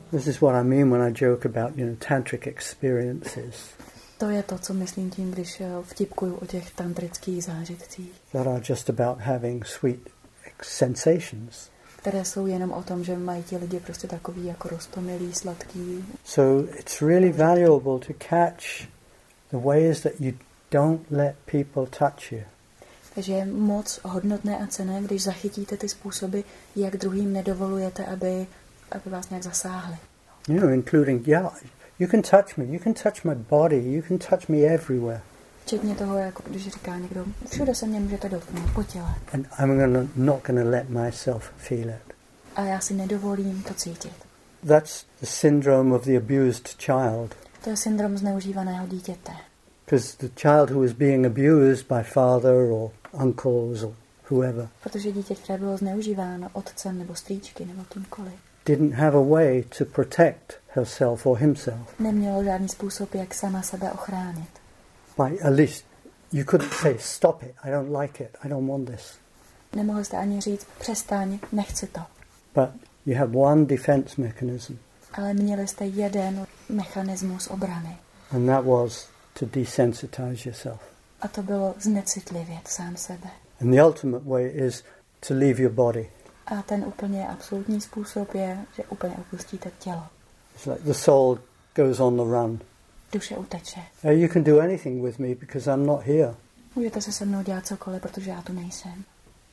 This is what I mean when I joke about, tantric experiences. To je to, co myslím tím, když vtipkuju o těch tantrických zážitcích. That are just about having sweet sensations. Které jsou jenom o tom, že mají ti lidi prostě takový jako roztomilý, sladký. So it's really valuable to catch the ways that you don't let people touch you. Takže je moc hodnotné a cenné, když zachytíte ty způsoby, jak druhým nedovolujete, aby vás nějak zasáhli. Including, you can touch me, you can touch my body, you can touch me everywhere. Včetně toho, jako když říká někdo, všude se mě můžete dotknout, po těle. And I'm not gonna let myself feel it. A já si nedovolím to cítit. That's the syndrome of the abused child. To je syndrom zneužívaného dítěte. Because the child who was being abused by father or uncles or whoever. Protože dítě, které bylo zneužíváno otcem nebo strýčky nebo kýmkoliv, didn't have a way to protect herself or himself. Nemělo žádný způsob, jak sama sebe ochránit. By at least you couldn't say stop it, I don't like it, I don't want this. Nemohli jste ani říct přestaň, nechci to. But you have one defense mechanism. Ale měli jste jeden mechanismus obrany. And that was to desensitize yourself. A to bylo znecitlivět sám sebe. And the ultimate way is to leave your body. A ten úplně absolutní způsob je, že úplně opustíte tělo. It's like the soul goes on the run. Duše uteče. You can do anything with me because I'm not here. Můžete se mnou dělat cokoliv, protože já tu nejsem.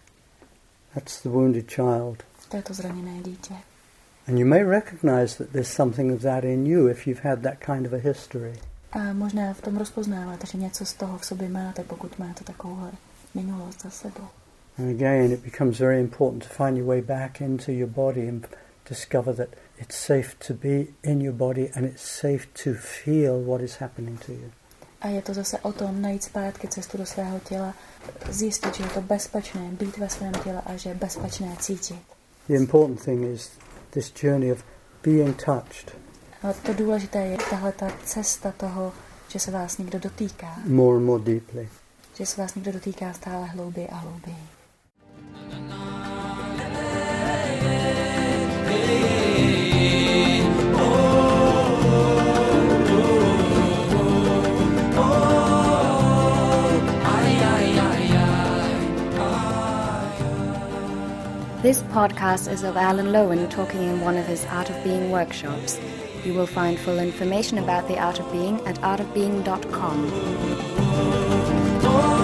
That's the wounded child. To je to zraněné dítě. And you may recognize that there's something of that in you if you've had that kind of a history. A možná v tom rozpoznáváte, že něco z toho v sobě máte, pokud máte takovouhle minulost za sebou. And again, it becomes very important to find your way back into your body and discover that it's safe to be in your body and it's safe to feel what is happening to you. A je to zase o tom najít zpátky cestu do svého těla, zjistit, že je to bezpečné být ve svém těle a že je bezpečné cítit. The important thing is this journey of being touched. A to důležité je tahle ta cesta toho, že se vás někdo dotýká. More and more deeply. Že se vás někdo dotýká stále hlouběji a hlouběji. This podcast is of Alan Lowen talking in one of his Art of Being workshops. You will find full information about the Art of Being at artofbeing.com.